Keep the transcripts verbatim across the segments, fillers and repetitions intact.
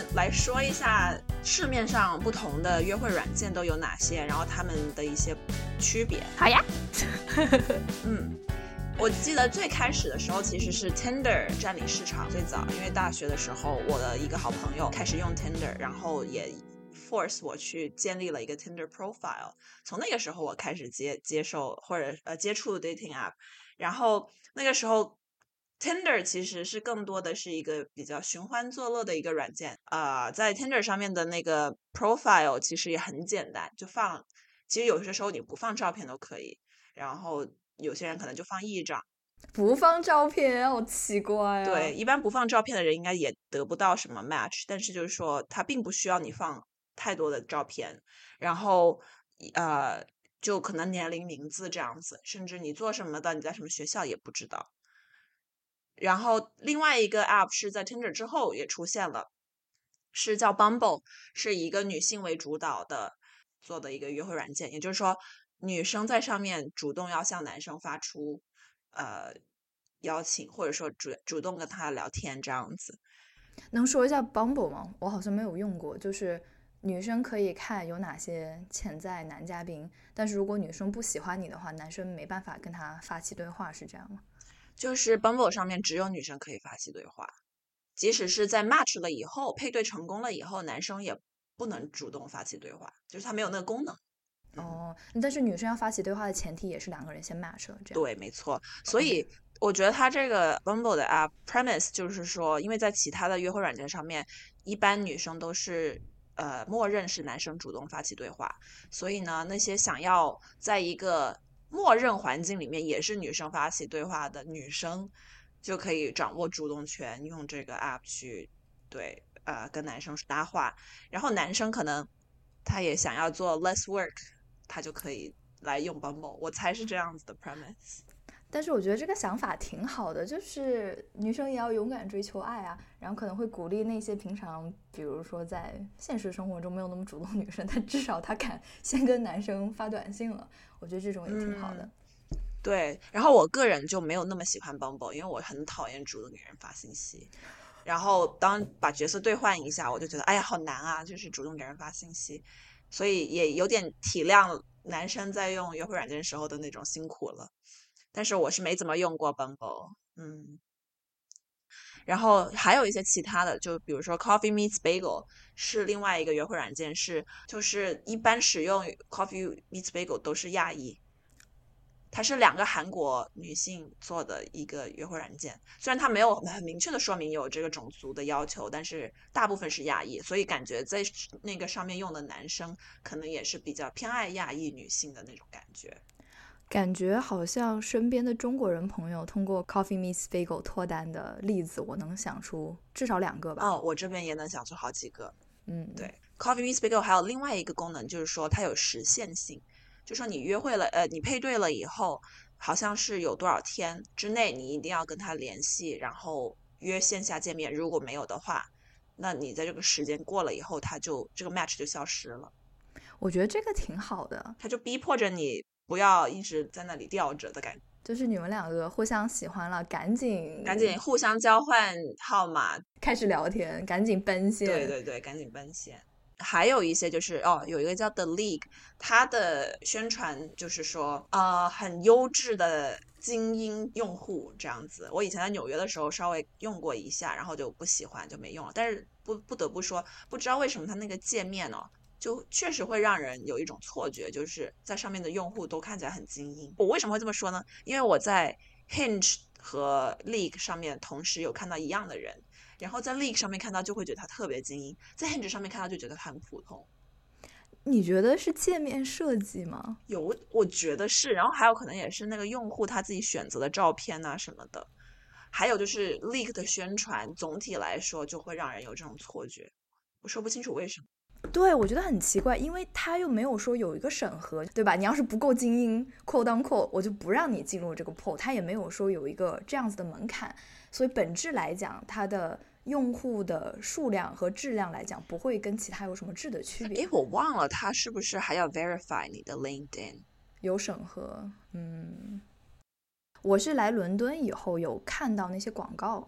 来说一下市面上不同的约会软件都有哪些，然后他们的一些区别。 好呀。 嗯，我记得最开始的时候其实是 Tinder 占领市场最早，因为大学的时候我的一个好朋友开始用 Tinder， 然后也 force 我去建立了一个 Tinder profile， 从那个时候我开始接接受或者呃接触 dating app， 然后那个时候Tinder 其实是更多的是一个比较寻欢作乐的一个软件，呃，在 Tinder 上面的那个 profile 其实也很简单，就放，其实有些时候你不放照片都可以，然后有些人可能就放一张， 不放照片，好奇怪啊。 对，一般不放照片的人应该也得不到什么 match， 但是就是说他并不需要你放太多的照片，然后呃，就可能年龄、名字这样子，甚至你做什么的，你在什么学校也不知道。然后另外一个 app 是在 Tinder 之后也出现了，是叫 Bumble， 是一个女性为主导的做的一个约会软件，也就是说女生在上面主动要向男生发出呃邀请，或者说主主动跟他聊天这样子。 能说一下 Bumble 吗？我好像没有用过，就是女生可以看有哪些潜在男嘉宾，但是如果女生不喜欢你的话，男生没办法跟他发起对话，是这样吗？ 就是 Bumble 上面只有女生可以发起对话，即使是在 match 了以后，配对成功了以后，男生也不能主动发起对话，就是他没有那个功能。 哦，但是女生要发起对话的前提也是两个人先 match 了，这样。 对，没错。所以我觉得它这个 Bumble 的 app premise 就是说，因为在其他的约会软件上面，一般女生都是呃默认是男生主动发起对话，所以呢，那些想要在一个默认环境里面也是女生发起对话的女生，就可以掌握主动权，用这个 app 去对呃跟男生搭话，然后男生可能他也想要做 less work，他就可以来用 Bumble， 我猜是这样子的 premise。 但是我觉得这个想法挺好的，就是女生也要勇敢追求爱啊，然后可能会鼓励那些平常比如说在现实生活中没有那么主动女生，但至少她敢先跟男生发短信了，我觉得这种也挺好的。 嗯，对，然后我个人就没有那么喜欢 Bumble，因为我很讨厌主动给人发信息，然后当把角色兑换一下，我就觉得哎呀好难啊，就是主动给人发信息，所以也有点体谅男生在用约会软件时候的那种辛苦了。但是我是没怎么用过 Bumble，嗯，然后还有一些其他的，就比如说 Coffee Meets Bagel 是另外一个约会软件，是就是一般使用 Coffee Meets Bagel 都是亚裔，它是两个韩国女性做的一个约会软件，虽然它没有很明确的说明有这个种族的要求，但是大部分是亚裔，所以感觉在那个上面用的男生可能也是比较偏爱亚裔女性的那种感觉。 感觉好像身边的中国人朋友通过 Coffee Meets Bagel 脱单的例子，我能想出至少两个吧。 哦，我这边也能想出好几个。 嗯， 对 ，Coffee Meets Bagel 还有另外一个功能，就是说它有时限性，就说你约会了，呃，你配对了以后，好像是有多少天之内你一定要跟他联系，然后约线下见面，如果没有的话，那你在这个时间过了以后，他就这个 match 就消失了， 我觉得这个挺好的， 他就逼迫着你不要一直在那里吊着的感觉， 就是你们两个互相喜欢了，赶紧赶紧互相交换号码， 开始聊天，赶紧奔现。 对对对，赶紧奔现。还有一些就是哦，有一个叫 The League， 它的宣传就是说，呃，很优质的精英用户这样子。我以前在纽约的时候稍微用过一下，然后就不喜欢就没用了。但是不不得不说，不知道为什么它那个界面哦，就确实会让人有一种错觉，就是在上面的用户都看起来很精英。我为什么会这么说呢？因为我在 Hinge 和 League 上面同时有看到一样的人。然后在 League 上面看到就会觉得他特别精英，在 Hinge 上面看到就觉得他很普通。 你觉得是界面设计吗？ 有，我觉得是，然后还有可能也是那个用户他自己选择的照片啊什么的，还有就是 League 的宣传，总体来说就会让人有这种错觉，我说不清楚为什么。 对，我觉得很奇怪，因为他又没有说有一个审核，对吧？你要是不够精英 ，quote unquote，我就不让你进入这个 pool。他也没有说有一个这样子的门槛，所以本质来讲，它的用户的数量和质量来讲，不会跟其他有什么质的区别。 诶，我忘了他是不是还要 verify 你的 LinkedIn？ 有审核，嗯，我是来伦敦以后有看到那些广告，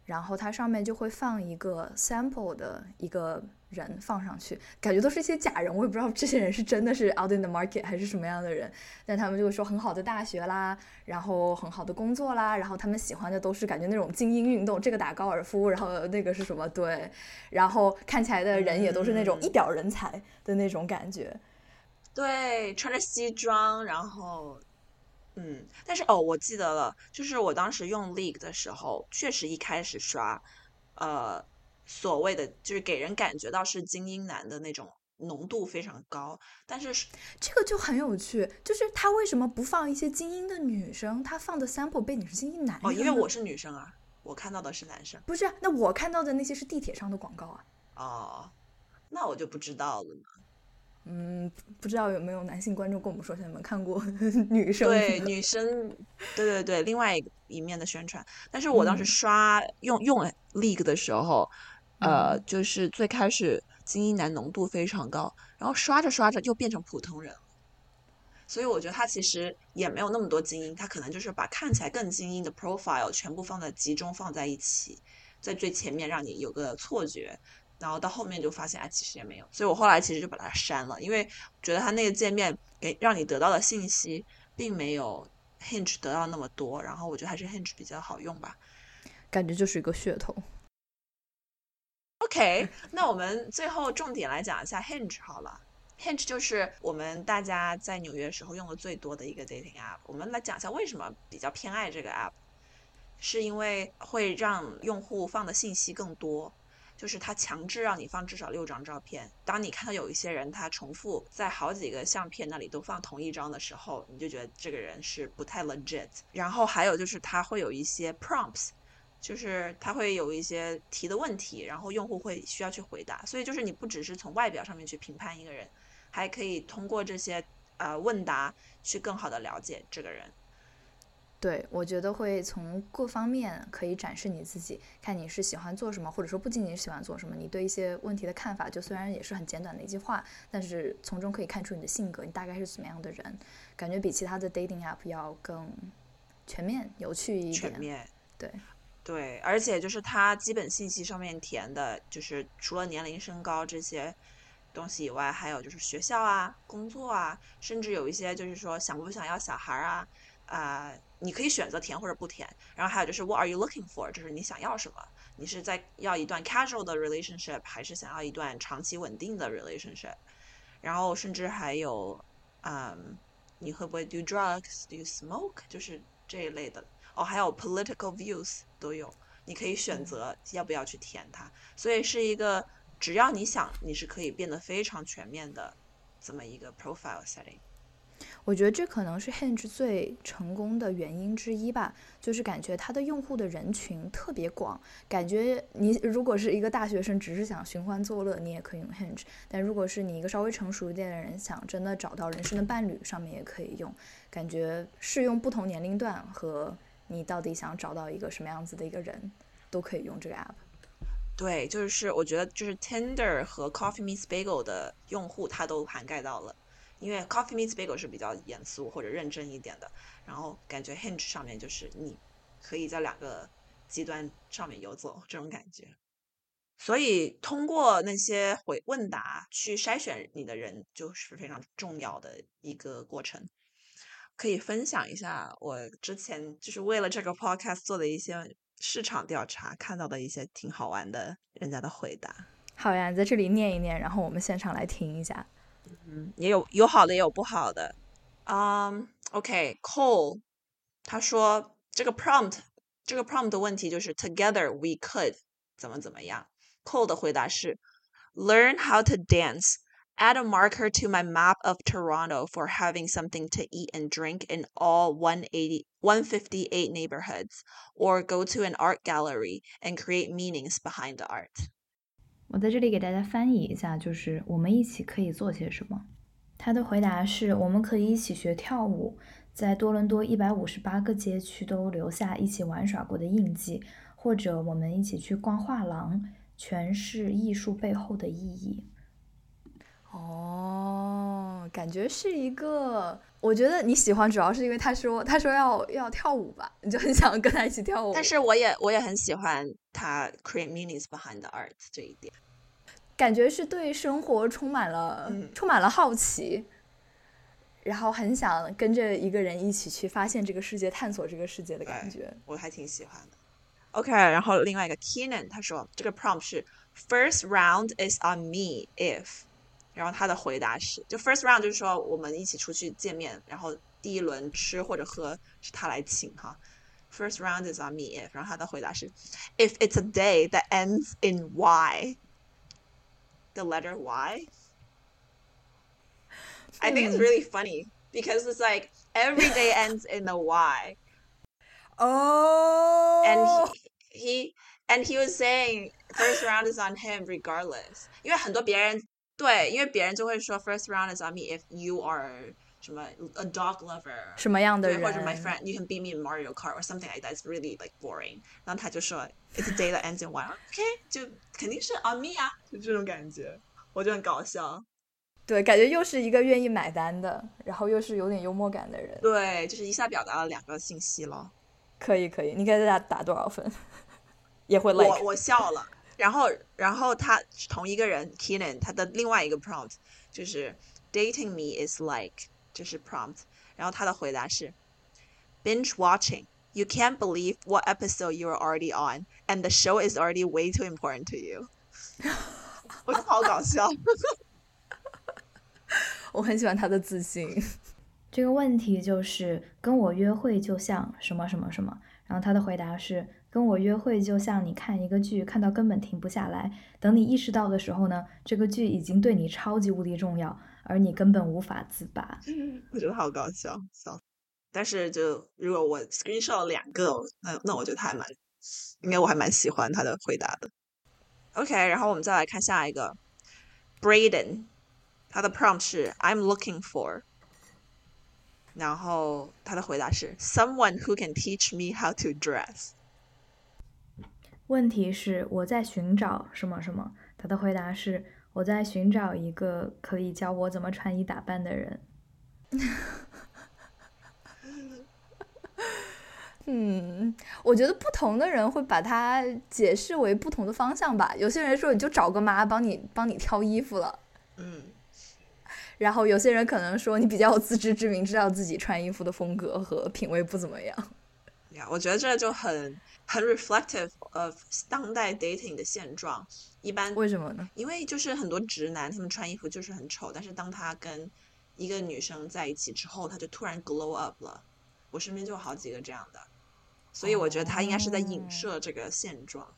然后它上面就会放一个 sample 的一个人放上去，感觉都是一些假人，我也不知道这些人是真的是 out in the market 还是什么样的人，但他们就会说很好的大学啦，然后很好的工作啦，然后他们喜欢的都是感觉那种精英运动，这个打高尔夫，然后那个是什么，对，然后看起来的人也都是那种一表人才的那种感觉、嗯、 对，穿着西装，然后嗯，但是哦，我记得了，就是我当时用 League 的时候，确实一开始刷呃所谓的就是给人感觉到是精英男的那种浓度非常高，但是这个就很有趣，就是他为什么不放一些精英的女生，他放的 sample 背景是精英男生哦，因为我是女生啊，我看到的是男生。 不是，那我看到的那些是地铁上的广告啊。 哦，那我就不知道了呢。 嗯，不知道有没有男性观众跟我们说一下，你们看过女生？ 对，女生，对对对，另外一面的宣传。但是我当时嗯刷用用 League 的时候，呃， 嗯， 就是最开始精英男浓度非常高，然后刷着刷着就变成普通人了。所以我觉得他其实也没有那么多精英，他可能就是把看起来更精英的 profile 全部放在集中放在一起，在最前面让你有个错觉，然后到后面就发现哎其实也没有，所以我后来其实就把它删了，因为觉得他那个界面给让你得到的信息并没有 Hinge 得到那么多，然后我觉得还是 Hinge 比较好用吧。 感觉就是一个噱头。 OK，那我们最后重点来讲一下 Hinge 好了。Hinge 就是我们大家在纽约时候用的最多的一个 dating app。我们来讲一下为什么比较偏爱这个 app，是因为会让用户放的信息更多，就是它强制让你放至少六张照片。当你看到有一些人他重复在好几个相片那里都放同一张的时候，你就觉得这个人是不太 legit。然后还有就是它会有一些 prompts，就是它会有一些提的问题，然后用户会需要去回答，所以就是你不只是从外表上面去评判一个人，还可以通过这些呃问答去更好的了解这个人。 对，我觉得会从各方面可以展示你自己，看你是喜欢做什么，或者说不仅仅是喜欢做什么，你对一些问题的看法，就虽然也是很简短的一句话，但是从中可以看出你的性格，你大概是怎么样的人，感觉比其他的 dating app 要更全面、有趣一点。 全面， 对。 对，而且就是它基本信息上面填的，就是除了年龄、身高这些东西以外，还有就是学校啊、工作啊，甚至有一些就是说想不想要小孩啊，啊、呃你可以选择填或者不填。然后还有就是 What are you looking for，就是你想要什么？你是在要一段 casual 的 relationship，还是想要一段长期稳定的 relationship？然后甚至还有，嗯，你会不会 do drugs，do you smoke，就是这一类的。哦，还有 political views 都有，你可以选择要不要去填它。所以是一个只要你想，你是可以变得非常全面的这么一个 profile setting。 我觉得这可能是 Hinge 最成功的原因之一吧，就是感觉它的用户的人群特别广，感觉你如果是一个大学生，只是想寻欢作乐，你也可以用 Hinge， 但如果是你一个稍微成熟一点的人，想真的找到人生的伴侣，上面也可以用，感觉适用不同年龄段和你到底想找到一个什么样子的一个人，都可以用这个 app。 对，就是我觉得就是 Tinder 和 Coffee Meets Bagel 的用户，它都涵盖到了。因为 Coffee Meets Bagel 是比较严肃或者认真一点的，然后感觉 Hinge 上面就是你可以在两个极端上面游走这种感觉。所以通过那些回问答去筛选你的人，就是非常重要的一个过程。可以分享一下我之前就是为了这个 podcast 做的一些市场调查，看到的一些挺好玩的人家的回答。 好呀，你在这里念一念，然后我们现场来听一下。 嗯，也有有好的也有不好的。嗯、um,，OK，Cole，、okay, 他说这个 prompt 这个 prompt 的问题就是 Together we could 怎么怎么样。Cole 的回答是 Learn how to dance. Add a marker to my map of Toronto for having something to eat and drink in all one eighty, one fifty-eight neighborhoods, or go to an art gallery and create meanings behind the art. 我在这里给大家翻译一下，就是我们一起可以做些什么。他的回答是：我们可以一起学跳舞，在多伦多一百五十八个街区都留下一起玩耍过的印记，或者我们一起去逛画廊，诠释艺术背后的意义。 哦，感觉是一个，我觉得你喜欢主要是因为他说他说要要跳舞吧，你就很想跟他一起跳舞。 但是我也我也很喜欢他 create meanings behind the art 这一点， 感觉是对生活充满了、 嗯、 充满了好奇，然后很想跟着一个人一起去发现这个世界，探索这个世界的感觉。 我还挺喜欢的。OK， 然后另外一个 Keenan 他说这个 prompt 是 First round is on me if， 然后他的回答是，就 first round 就是说我们一起出去见面，然后第一轮吃或者喝是他来请哈。First round is on me if， 然后他的回答是 If it's a day that ends in Y， the letter Y。I think it's really funny because it's like every day ends in a Y. Oh. And he, he and he was saying first round is on him regardless. 因为很多别人对，因为别人就会说 first round is on me if you are 什么 a dog lover 什么样的人， 或者 my friend you can beat me in Mario Kart or something like that. It's really like boring. 然后他就说 it's a day that ends in Y. OK， 就肯定是 on me 啊，就这种感觉，我就很搞笑。 对，感觉又是一个愿意买单的，然后又是有点幽默感的人。 对，就是一下表达了两个信息了。 可以可以，你给他打多少分？也会 like 我我笑了。然后然后他同一个人 Keenan 他的另外一个 prompt 就是 dating me is like 就是 prompt， 然后他的回答是 binge watching. You can't believe what episode you are already on, and the show is already way too important to you. 我觉得好搞笑。 我很喜欢他的自信。 这个问题就是跟我约会就像什么什么什么，然后他的回答是跟我约会就像你看一个剧看到根本停不下来，等你意识到的时候呢，这个剧已经对你超级无敌重要，而你根本无法自拔。 我觉得好搞笑，笑。但是就如果我 screenshot 了两个，那那我觉得他还蛮，应该我还蛮喜欢他的回答的。OK， 然后我们再来看下一个 Braden， 他的 prompt 是 I'm looking for， 然后他的回答是 someone who can teach me how to dress。 问题是我在寻找什么什么，他的回答是我在寻找一个可以教我怎么穿衣打扮的人。 嗯，我觉得不同的人会把它解释为不同的方向吧。有些人说你就找个妈帮你帮你挑衣服了， 嗯， 然后有些人可能说你比较有自知之明，知道自己穿衣服的风格和品味不怎么样。 呀，我觉得这就很很 reflective of 当代 dating 的现状。一般为什么呢？ 因为就是很多直男他们穿衣服就是很丑，但是当他跟一个女生在一起之后，他就突然 glow up 了。我身边就有好几个这样的。所以我觉得他应该是在影射这个现状。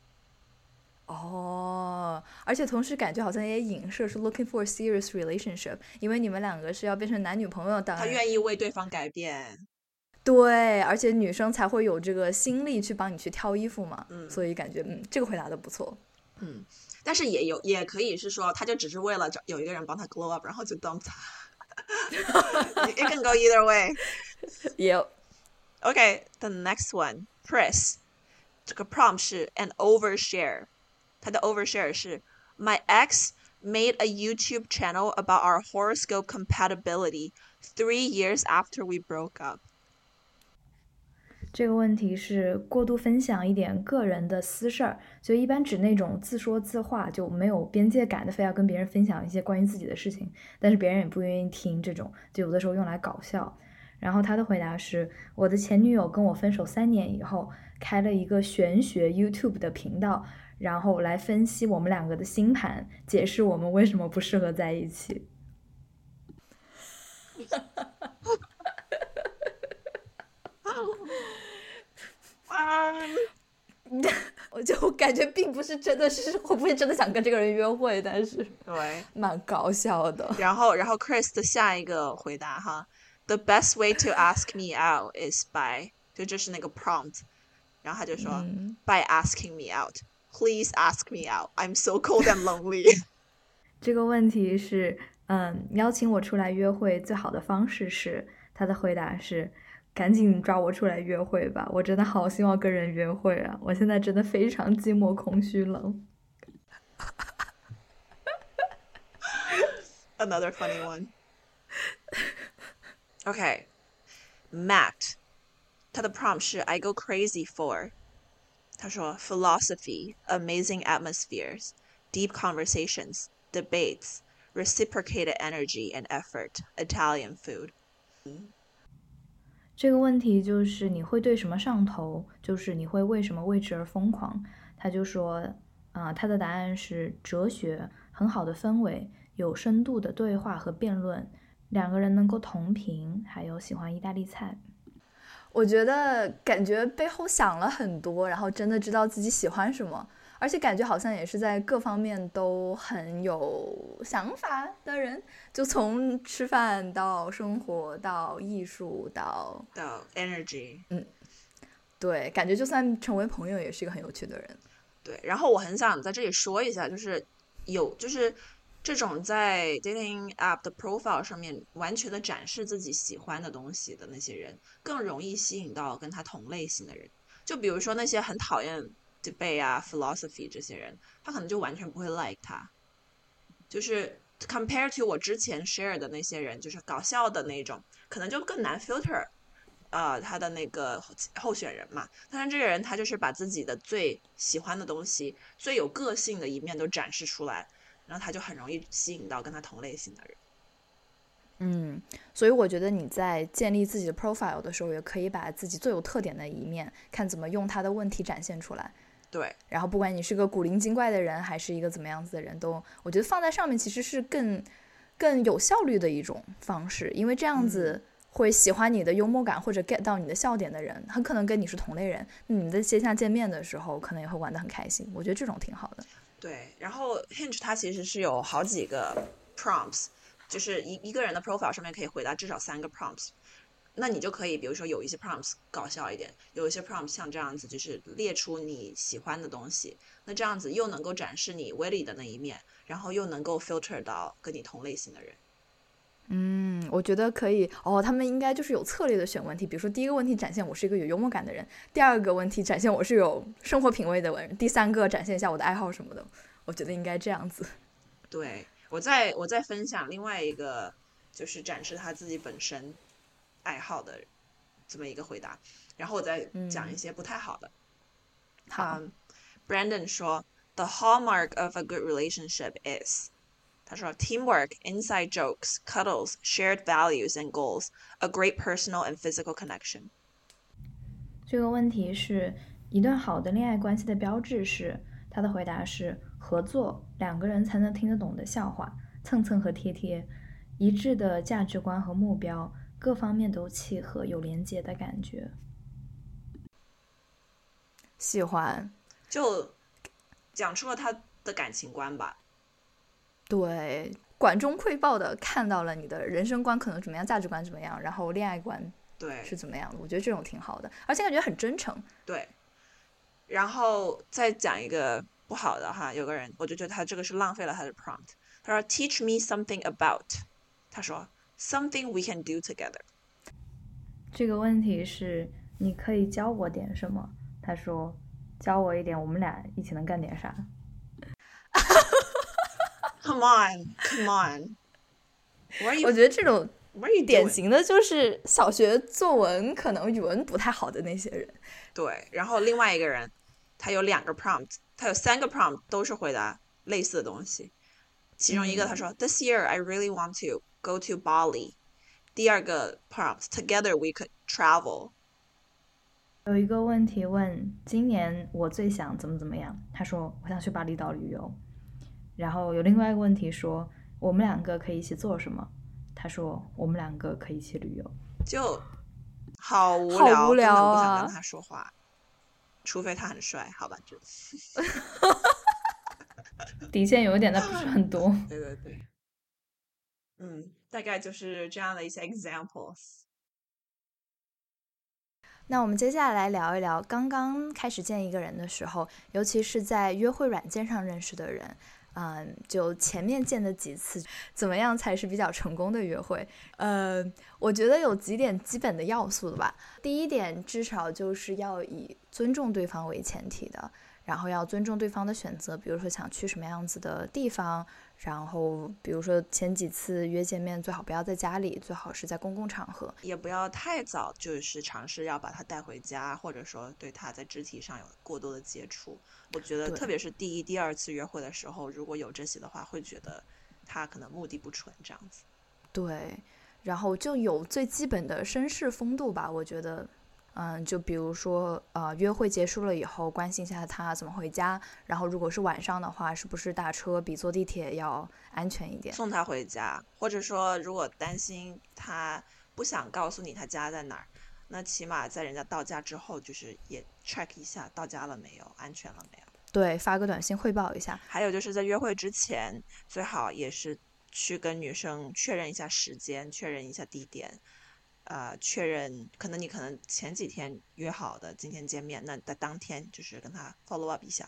哦，而且同时感觉好像也影射是 looking for a serious relationship， 因为你们两个是要变成男女朋友，当然他愿意为对方改变。 对，而且女生才会有这个心力去帮你去挑衣服嘛。 嗯， 所以感觉嗯，这个回答的不错。 嗯，但是也有也可以是说，他就只是为了找有一个人帮他 glow up， 然后就 dump 他。It can go either way. Yep. Okay, the next one, Chris. 这个 prompt 是 an overshare， 他的 overshare 是 My ex made a YouTube channel about our horoscope compatibility three years after we broke up。 这个问题是过度分享一点个人的私事儿，就一般指那种自说自话，就没有边界感的，非要跟别人分享一些关于自己的事情，但是别人也不愿意听，这种就有的时候用来搞笑。然后他的回答是我的前女友跟我分手三年以后开了一个玄学 YouTube 的频道，然后来分析我们两个的星盘，解释我们为什么不适合在一起。 我就感觉并不是真的是会不会真的想跟这个人约会，但是对， 蛮搞笑的。 然后然后 Chris 的下一个回答哈，The best way to ask me out is by， 就这是那个 prompt， 然后他就说、嗯、by asking me out Please ask me out I'm so cold and lonely。 这个问题是嗯，邀请我出来约会最好的方式是，他的回答是赶紧抓我出来约会吧，我真的好希望跟人约会啊，我现在真的非常寂寞空虚冷。 Another funny one. Okay, Matt, 他的 prompt 是 I go crazy for. 他说 philosophy, amazing atmospheres, deep conversations, debates, reciprocated energy and effort, Italian food. 这个问题就是你会对什么上头，就是你会为什么为之而疯狂。他就说啊、呃，他的答案是哲学，很好的氛围，有深度的对话和辩论，两个人能够同频，还有喜欢意大利菜。 我觉得感觉背后想了很多，然后真的知道自己喜欢什么，而且感觉好像也是在各方面都很有想法的人，就从吃饭到生活到艺术到到 energy。 嗯，对，感觉就算成为朋友也是一个很有趣的人。 对，然后我很想在这里说一下，就是有就是这种在 dating app 的 profile 上面完全的展示自己喜欢的东西的那些人，更容易吸引到跟他同类型的人。就比如说那些很讨厌 debate 啊 philosophy 这些人，他可能就完全不会 like 他。就是 compare to 我之前 share 的那些人，就是搞笑的那种，可能就更难 filter呃他的那个候选人嘛。但是这个人他就是把自己的最喜欢的东西，最有个性的一面都展示出来，然后他就很容易吸引到跟他同类型的人。 嗯，所以我觉得你在建立自己的 profile 的时候，也可以把自己最有特点的一面，看怎么用他的问题展现出来。 对， 然后不管你是个古灵精怪的人，还是一个怎么样子的人，都我觉得放在上面其实是更更有效率的一种方式，因为这样子会喜欢你的幽默感或者 get 到你的笑点的人，很可能跟你是同类人，你们在线下见面的时候，可能也会玩得很开心。我觉得这种挺好的。 对，然后 Hinge 它其实是有好几个 prompts， 就是一一个人的 profile 上面可以回答至少三个 prompts。那你就可以比如说有一些 prompts 搞笑一点，有一些 prompts 像这样子就是列出你喜欢的东西，那这样子又能够展示你 witty 的那一面，然后又能够 filter 到跟你同类型的人。 嗯，我觉得可以哦。他们应该就是有策略的选问题，比如说第一个问题展现我是一个有幽默感的人，第二个问题展现我是有生活品味的人，第三个展现一下我的爱好什么的。我觉得应该这样子。 对，我再我再分享另外一个，就是展示他自己本身爱好的这么一个回答，然后我再讲一些不太好的。 嗯、好、 um, Brandon 说 The hallmark of a good relationship is， 他说 teamwork, inside jokes, cuddles, shared values and goals, a great personal and physical connection。 这个问题是一段好的恋爱关系的标志是，他的回答是合作，两个人才能听得懂的笑话，蹭蹭和贴贴，一致的价值观和目标，各方面都契合，有连结的感觉。 喜欢， 就讲出了他的感情观吧。 对，管中窥豹的看到了你的人生观可能怎么样，价值观怎么样，然后恋爱观对是怎么样的。我觉得这种挺好的，而且感觉很真诚。 对，然后再讲一个不好的哈，有个人我就觉得他这个是浪费了他的 prompt。他说 Teach me something about， 他说 something we can do together。 这个问题是你可以教我点什么，他说教我一点，我们俩一起能干点啥。 Come on, come on. What are you, 我觉得这种 what are you 典 doing? 型的就是小学作文可能语文不太好的那些人。 对，然后另外一个人他有两个 prompt， 他有三个 prompt 都是回答类似的东西。其中一个他说、嗯、This year I really want to go to Bali。 第二个 prompt Together we could travel。 有一个问题问今年我最想怎么怎么样，他说我想去巴厘岛旅游。然后有另外一个问题说我们两个可以一起做什么，他说我们两个可以一起旅游。 就好无聊，好无聊啊， 根本不想跟他说话，除非他很帅，好吧，就底线有一点，但不是很多。 对对对，嗯，大概就是这样的一些 examples。 那我们接下来聊一聊刚刚开始见一个人的时候，尤其是在约会软件上认识的人，嗯，就前面见的几次，怎么样才是比较成功的约会？呃，我觉得有几点基本的要素的吧。第一点，至少就是要以尊重对方为前提的，然后要尊重对方的选择，比如说想去什么样子的地方，然后比如说前几次约见面最好不要在家里，最好是在公共场合， 也不要太早就是尝试要把他带回家，或者说对他在肢体上有过多的接触。我觉得特别是第一第二次约会的时候，如果有这些的话，会觉得他可能目的不纯这样子。 对，然后就有最基本的绅士风度吧，我觉得。嗯，就比如说，呃，约会结束了以后，关心一下他怎么回家。然后，如果是晚上的话，是不是打车比坐地铁要安全一点？ 送他回家，或者说，如果担心他不想告诉你他家在哪儿，那起码在人家到家之后，就是也 check 一下到家了没有，安全了没有。 对，发个短信汇报一下。 还有就是在约会之前，最好也是去跟女生确认一下时间，确认一下地点。呃，确认可能你可能前几天约好的今天见面，那在当天就是跟他 follow up 一下。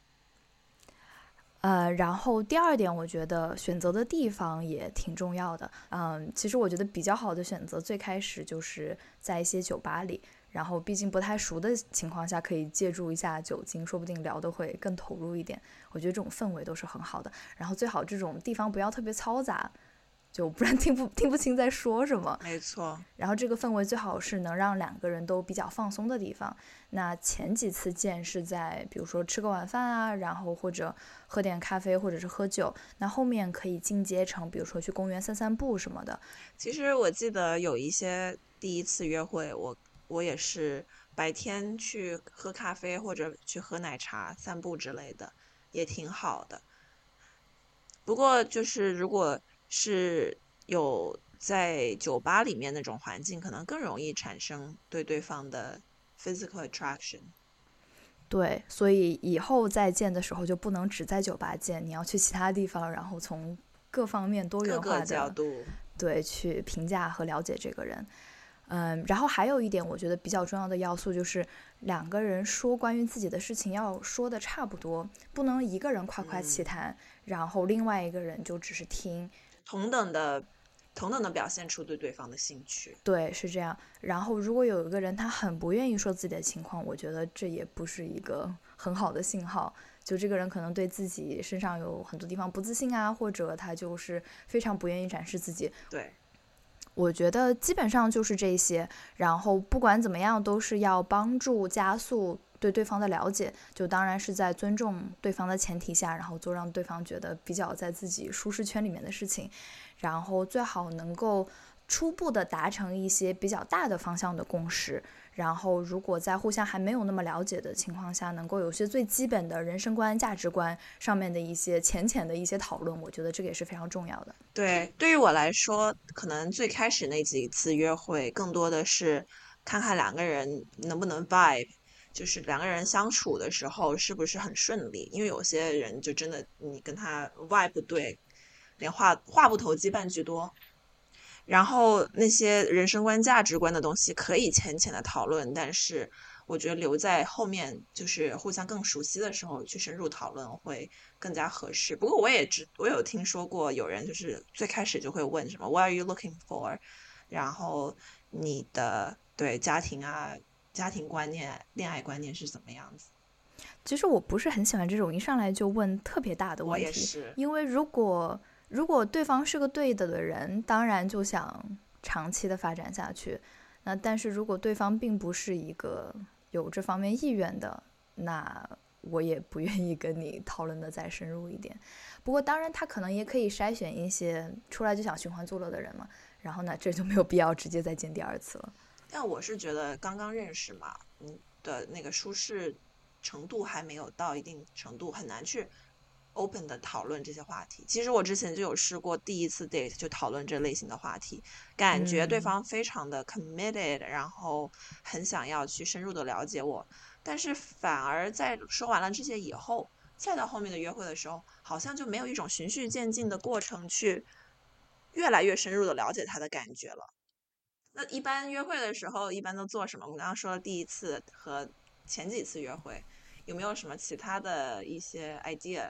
呃，然后第二点，我觉得选择的地方也挺重要的。嗯，其实我觉得比较好的选择，最开始就是在一些酒吧里，然后毕竟不太熟的情况下，可以借助一下酒精，说不定聊得会更投入一点。我觉得这种氛围都是很好的。然后最好这种地方不要特别嘈杂。就不然听不听不清在说什么。 没错。 然后这个氛围最好是能让两个人都比较放松的地方。那前几次见是在比如说吃个晚饭啊，然后或者喝点咖啡，或者是喝酒。那后面可以进阶成比如说去公园散散步什么的。 其实我记得有一些第一次约会，我我也是白天去喝咖啡或者去喝奶茶散步之类的，也挺好的。不过就是如果是有在酒吧里面那种环境，可能更容易产生对对方的 physical attraction。 对，所以以后再见的时候就不能只在酒吧见，你要去其他地方，然后从各方面多元化的各个角度对去评价和了解这个人。嗯，然后还有一点我觉得比较重要的要素就是两个人说关于自己的事情要说的差不多，不能一个人夸夸其谈、嗯、然后另外一个人就只是听， 同等的同等的表现出对对方的兴趣。 对，是这样。然后如果有一个人他很不愿意说自己的情况，我觉得这也不是一个很好的信号，就这个人可能对自己身上有很多地方不自信啊，或者他就是非常不愿意展示自己。 对， 我觉得基本上就是这些，然后不管怎么样都是要帮助加速对对方的了解，就当然是在尊重对方的前提下，然后做让对方觉得比较在自己舒适圈里面的事情，然后最好能够初步的达成一些比较大的方向的共识，然后如果在互相还没有那么了解的情况下，能够有些最基本的人生观价值观上面的一些浅浅的一些讨论，我觉得这个也是非常重要的。 对，对于我来说可能最开始那几次约会更多的是看看两个人能不能 vibe， 就是两个人相处的时候是不是很顺利，因为有些人就真的你跟他 vibe 不对，连话话不投机半句多。然后那些人生观价值观的东西可以浅浅的讨论，但是我觉得留在后面就是互相更熟悉的时候去深入讨论会更加合适。不过我也知我有听说过有人就是最开始就会问什么 What are you looking for， 然后你的对家庭啊家庭观念恋爱观念是怎么样子。 其实我不是很喜欢这种一上来就问特别大的问题， 我也是， 因为如果如果对方是个对的的人，当然就想长期的发展下去。那但是如果对方并不是一个有这方面意愿的，那我也不愿意跟你讨论的再深入一点。不过当然他可能也可以筛选一些出来就想寻欢作乐的人嘛，然后呢这就没有必要直接再见第二次了。 但我是觉得刚刚认识嘛，你的那个舒适程度还没有到一定程度，很难去open 的讨论这些话题。其实我之前就有试过第一次 date 就讨论这类型的话题，感觉对方非常的 committed、嗯、然后很想要去深入的了解我，但是反而在说完了这些以后，再到后面的约会的时候，好像就没有一种循序渐进的过程去越来越深入的了解他的感觉了。那一般约会的时候一般都做什么？我们刚刚说第一次和前几次约会，有没有什么其他的一些 idea？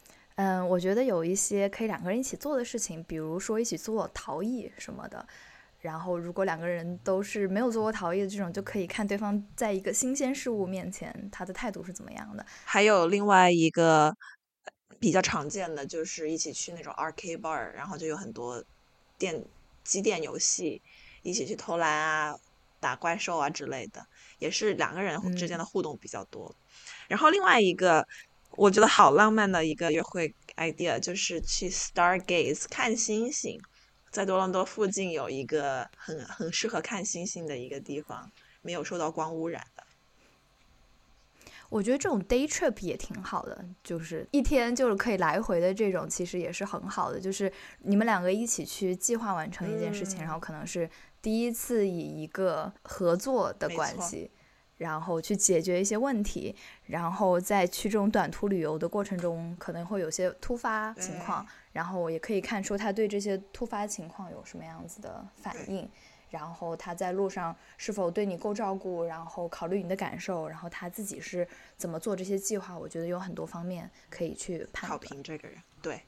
嗯，我觉得有一些可以两个人一起做的事情，比如说一起做陶艺什么的。 然后如果两个人都是没有做过陶艺的这种，就可以看对方在一个新鲜事物面前他的态度是怎么样的。 还有另外一个比较常见的就是一起去那种 arcade bar， 然后就有很多电机电游戏，一起去投篮啊、打怪兽啊之类的，也是两个人之间的互动比较多。嗯、然后另外一个我觉得好浪漫的一个约会 idea 就是去 Stargaze 看星星。在多伦多附近有一个很很适合看星星的一个地方，没有受到光污染的。 我觉得这种 day trip 也挺好的，就是一天就是可以来回的这种，其实也是很好的。就是你们两个一起去计划完成一件事情，嗯、然后可能是第一次以一个合作的关系，然后去解决一些问题，然后在去这种短途旅游的过程中，可能会有些突发情况，然后也可以看出他对这些突发情况有什么样子的反应。然后他在路上是否对你够照顾，然后考虑你的感受，然后他自己是怎么做这些计划，我觉得有很多方面可以去判断考评这个人。对，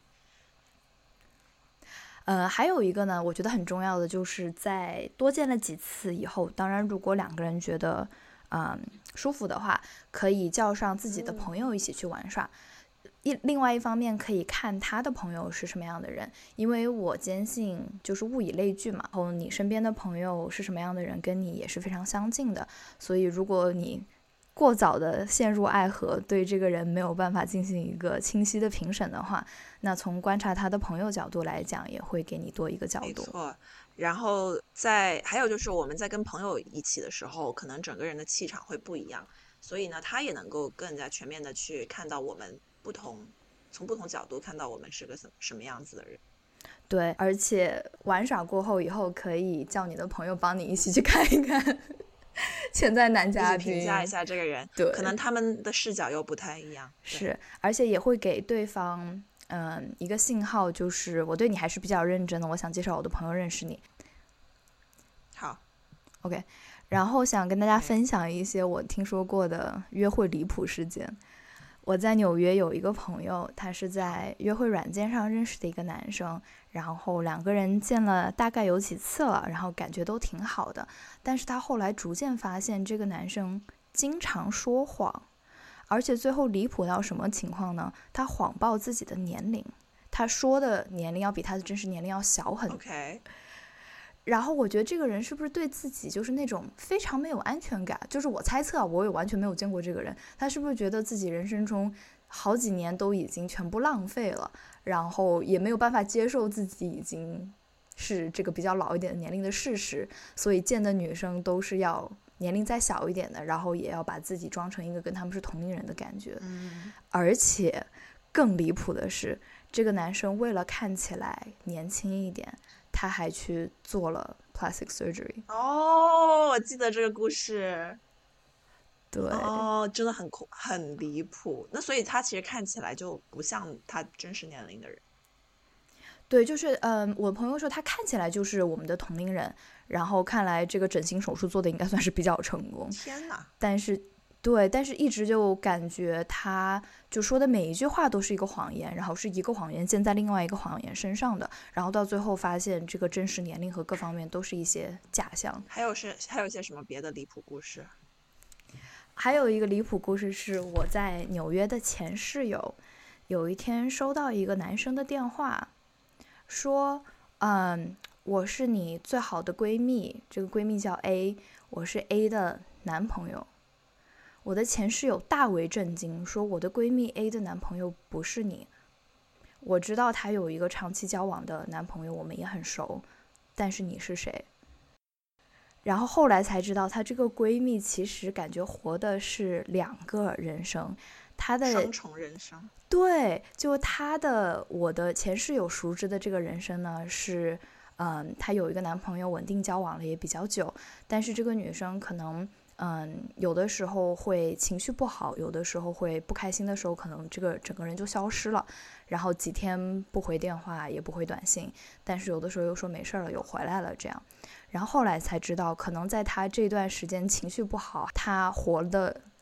呃，还有一个呢，我觉得很重要的就是在多见了几次以后，当然如果两个人觉得嗯舒服的话，可以叫上自己的朋友一起去玩耍。一另外一方面可以看他的朋友是什么样的人，因为我坚信就是物以类聚嘛，然后你身边的朋友是什么样的人跟你也是非常相近的，所以如果你过早的陷入爱河，对这个人没有办法进行一个清晰的评审的话，那从观察他的朋友角度来讲也会给你多一个角度。 没错，然后在还有就是我们在跟朋友一起的时候，可能整个人的气场会不一样，所以呢他也能够更加全面的去看到我们不同，从不同角度看到我们是个什什么样子的人。 对，而且玩耍过后以后可以叫你的朋友帮你一起去看一看潜在男嘉宾， 评价一下这个人， 对， 可能他们的视角又不太一样。 是，而且也会给对方嗯一个信号，就是我对你还是比较认真的，我想介绍我的朋友认识你。 好 OK， 然后想跟大家分享一些我听说过的约会离谱事件。我在纽约有一个朋友，他是在约会软件上认识的一个男生，然后两个人见了大概有几次了，然后感觉都挺好的，但是他后来逐渐发现这个男生经常说谎，而且最后离谱到什么情况呢？他谎报自己的年龄，他说的年龄要比他的真实年龄要小很多。 Okay. 然后我觉得这个人是不是对自己就是那种非常没有安全感，就是我猜测啊，我也完全没有见过这个人，他是不是觉得自己人生中好几年都已经全部浪费了，然后也没有办法接受自己已经是这个比较老一点的年龄的事实，所以见的女生都是要年龄再小一点的，然后也要把自己装成一个跟他们是同龄人的感觉。 嗯， 而且更离谱的是，这个男生为了看起来年轻一点，他还去做了 plastic surgery。 哦，我记得这个故事。 对， 哦，真的很很离谱。那所以他其实看起来就不像他真实年龄的人。 对，就是嗯，我朋友说他看起来就是我们的同龄人，然后看来这个整形手术做的应该算是比较成功。 天哪！ 但是对，但是一直就感觉他就说的每一句话都是一个谎言，然后是一个谎言建在另外一个谎言身上的，然后到最后发现这个真实年龄和各方面都是一些假象。 还有是还有一些什么别的离谱故事？ 还有一个离谱故事是我在纽约的前室友，有一天收到一个男生的电话，说嗯，我是你最好的闺蜜，这个闺蜜叫 A， 我是 A 的男朋友。我的前室友大为震惊，说我的闺蜜 A 的男朋友不是你。我知道她有一个长期交往的男朋友，我们也很熟，但是你是谁？然后后来才知道，她这个闺蜜其实感觉活的是两个人生，她的双重人生。 对，就她的我的前室友熟知的这个人生呢是，嗯，她有一个男朋友，稳定交往了也比较久，但是这个女生可能。嗯，有的时候会情绪不好，有的时候会不开心的时候，可能这个整个人就消失了，然后几天不回电话也不回短信，但是有的时候又说没事了，又回来了这样。然后后来才知道，可能在他这段时间情绪不好，他活的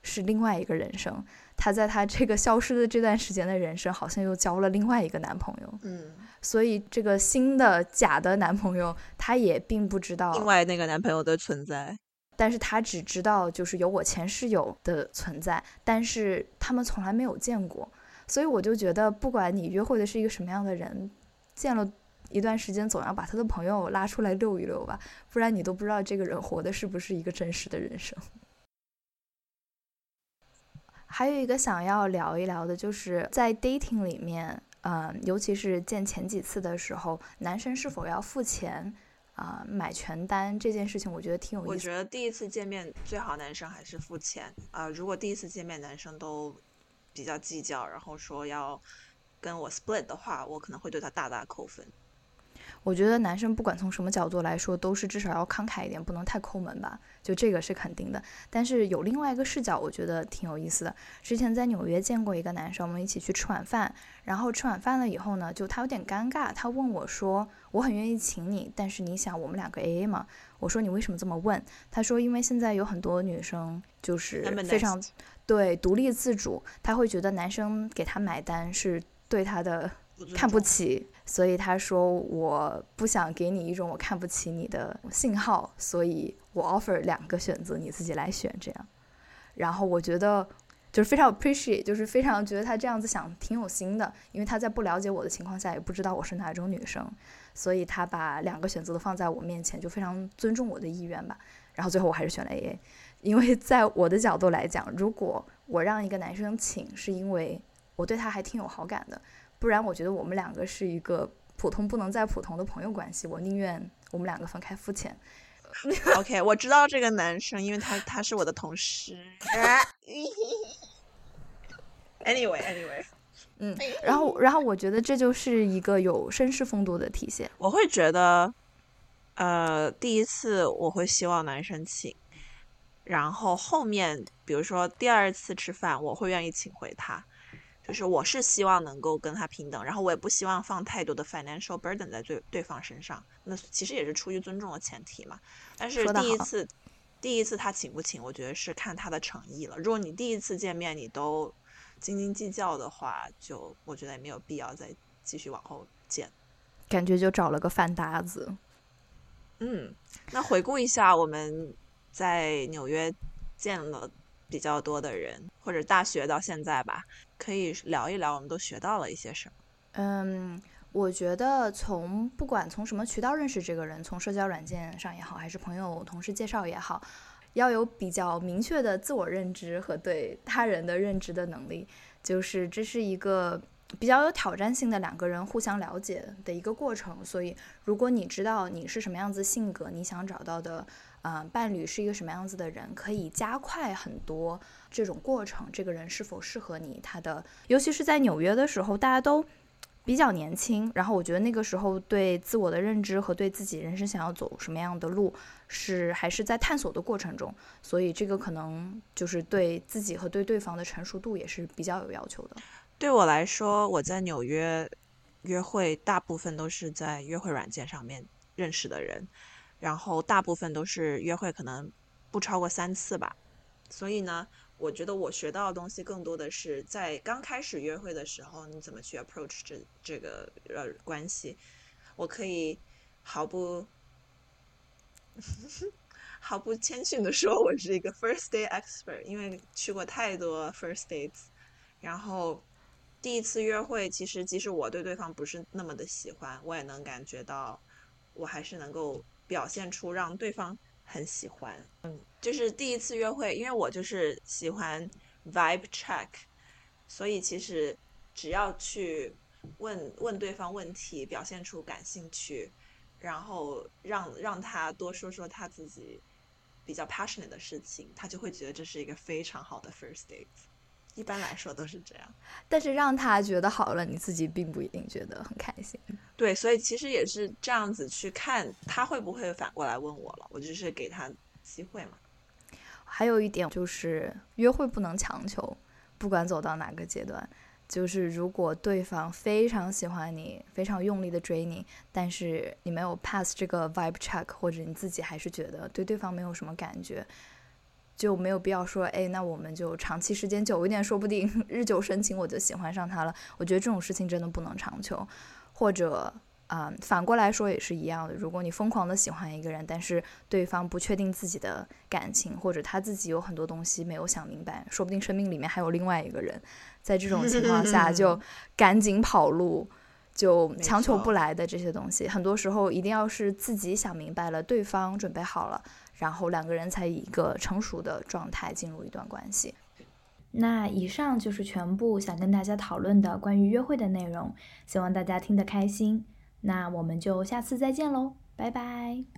是另外一个人生，他在他这个消失的这段时间的人生好像又交了另外一个男朋友， 嗯， 所以这个新的假的男朋友他也并不知道另外那个男朋友的存在， 但是他只知道就是有我前室友的存在，但是他们从来没有见过。所以我就觉得不管你约会的是一个什么样的人，见了一段时间总要把他的朋友拉出来溜一溜吧，不然你都不知道这个人活的是不是一个真实的人生。还有一个想要聊一聊的就是在 dating 里面，嗯，尤其是见前几次的时候，男生是否要付钱啊、呃，买全单这件事情，我觉得挺有意思。 我觉得第一次见面最好男生还是付钱啊、呃。如果第一次见面男生都比较计较，然后说要跟我 split 的话，我可能会对他大大扣分。 我觉得男生不管从什么角度来说，都是至少要慷慨一点，不能太抠门吧，就这个是肯定的。但是有另外一个视角，我觉得挺有意思的。之前在纽约见过一个男生，我们一起去吃晚饭，然后吃晚饭了以后呢，就他有点尴尬，他问我说，我很愿意请你，但是你想我们两个 A A 吗？我说你为什么这么问？他说因为现在有很多女生就是非常对独立自主，他会觉得男生给他买单是对他的看不起，所以他说我不想给你一种我看不起你的信号，所以我 offer 两个选择，你自己来选这样。然后我觉得就是非常 appreciate， 就是非常觉得他这样子想挺有心的，因为他在不了解我的情况下也不知道我是哪种女生，所以他把两个选择都放在我面前，就非常尊重我的意愿吧。然后最后我还是选了 A A， 因为在我的角度来讲，如果我让一个男生请是因为我对他还挺有好感的，不然我觉得我们两个是一个普通不能再普通的朋友关系，我宁愿我们两个分开付钱。 OK， 我知道这个男生，因为他他是我的同事。anyway anyway， 嗯，然后然后我觉得这就是一个有绅士风度的体现。 我会觉得，呃，第一次我会希望男生请，然后后面比如说第二次吃饭，我会愿意请回他。就是我是希望能够跟他平等，然后我也不希望放太多的 financial burden 在对对方身上，那其实也是出于尊重的前提嘛。但是第一次第一次他请不请，我觉得是看他的诚意了。如果你第一次见面你都斤斤计较的话，就我觉得也没有必要再继续往后见， 感觉就找了个饭搭子。 嗯，那回顾一下我们在纽约见了比较多的人，或者大学到现在吧，可以聊一聊我们都学到了一些什么。 嗯，我觉得从不管从什么渠道认识这个人，从社交软件上也好，还是朋友同事介绍也好，要有比较明确的自我认知和对他人的认知的能力，就是这是一个比较有挑战性的两个人互相了解的一个过程。所以如果你知道你是什么样子性格，你想找到的呃，伴侣是一个什么样子的人，可以加快很多这种过程，这个人是否适合你，他的尤其是在纽约的时候，大家都比较年轻，然后我觉得那个时候对自我的认知和对自己人生想要走什么样的路是还是在探索的过程中，所以这个可能就是对自己和对对方的成熟度也是比较有要求的。 对我来说，我在纽约约会大部分都是在约会软件上面认识的人，然后大部分都是约会可能不超过三次吧。所以呢，我觉得我学到的东西更多的是在刚开始约会的时候，你怎么去 approach 这这个呃关系。我可以毫不毫不谦逊的说，我是一个 first date expert， 因为去过太多 first dates。然后第一次约会，其实即使我对对方不是那么的喜欢，我也能感觉到，我还是能够表现出让对方很喜欢。嗯，就是第一次约会，因为我就是喜欢 vibe check， 所以其实只要去问问对方问题，表现出感兴趣，然后让让他多说说他自己比较 passionate 的事情，他就会觉得这是一个非常好的 first date。一般来说都是这样， 但是让他觉得好了，你自己并不一定觉得很开心。 对，所以其实也是这样子去看他会不会反过来问我了，我就是给他机会嘛。 还有一点就是约会不能强求，不管走到哪个阶段，就是如果对方非常喜欢你，非常用力的追你，但是你没有 pass 这个 vibe check， 或者你自己还是觉得对对方没有什么感觉， 就没有必要说，哎，那我们就长期时间久一点，说不定日久生情我就喜欢上他了。我觉得这种事情真的不能长求。或者啊、嗯，反过来说也是一样的，如果你疯狂的喜欢一个人，但是对方不确定自己的感情，或者他自己有很多东西没有想明白，说不定生命里面还有另外一个人，在这种情况下就赶紧跑路，就强求不来的这些东西，很多时候一定要是自己想明白了，对方准备好了，然后两个人才以一个成熟的状态进入一段关系。 那以上就是全部想跟大家讨论的关于约会的内容，希望大家听得开心。那我们就下次再见喽，拜拜。